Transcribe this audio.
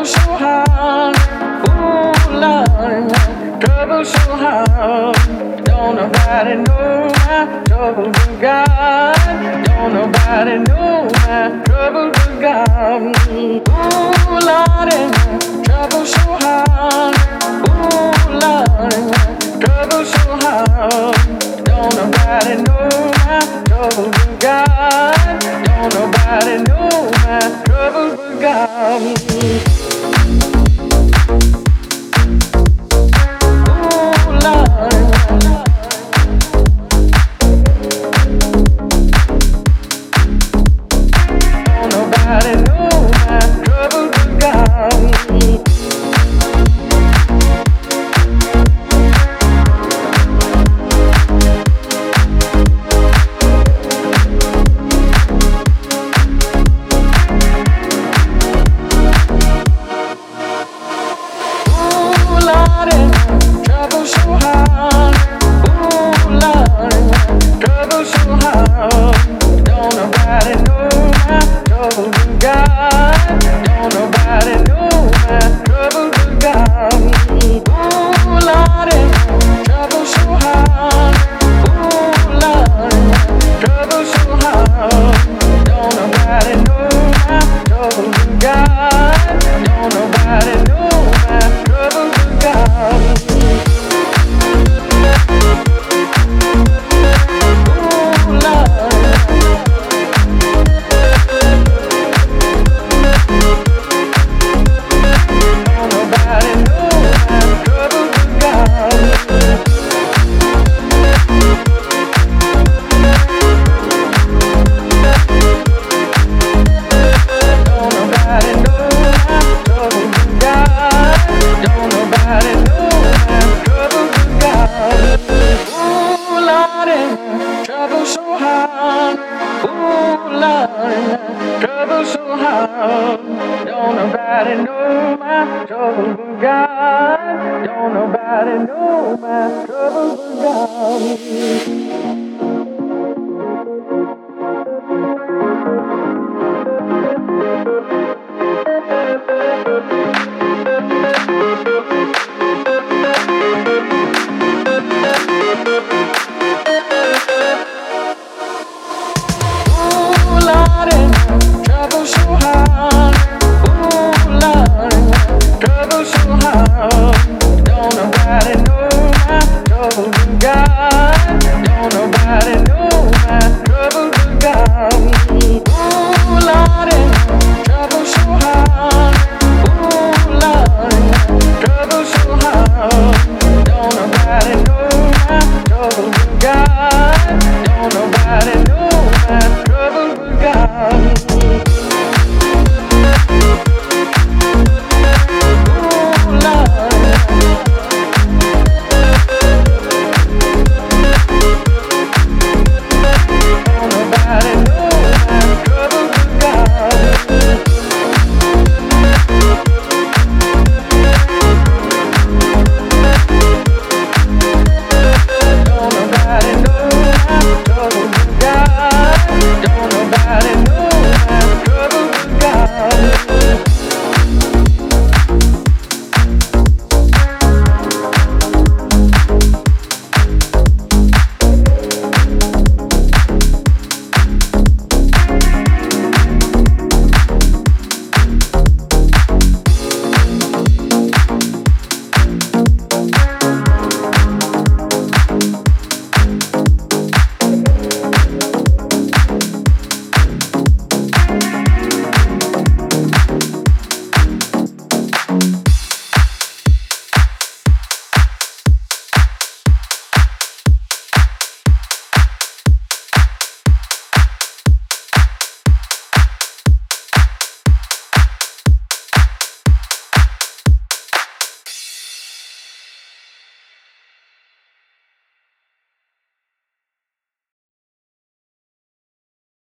trouble so hard. Ooh, Lord, trouble so hard. Don't nobody know my trouble but God. Don't nobody know my trouble but God. Ooh, Lord, trouble so hard. Ooh, Lord, trouble so hard. Don't nobody know my trouble but God. Don't nobody know my trouble but God. Trouble so hard, ooh Lord, trouble so hard. Don't nobody know my trouble but God. Don't nobody know my trouble but God. Ooh Lord, trouble so hard, ooh Lord, trouble so hard. Don't nobody know my trouble but God. Don't nobody know my trouble but God. Trouble so hard, ooh Lord, trouble so hard. Don't nobody know my trouble but God. Don't nobody know my trouble but God.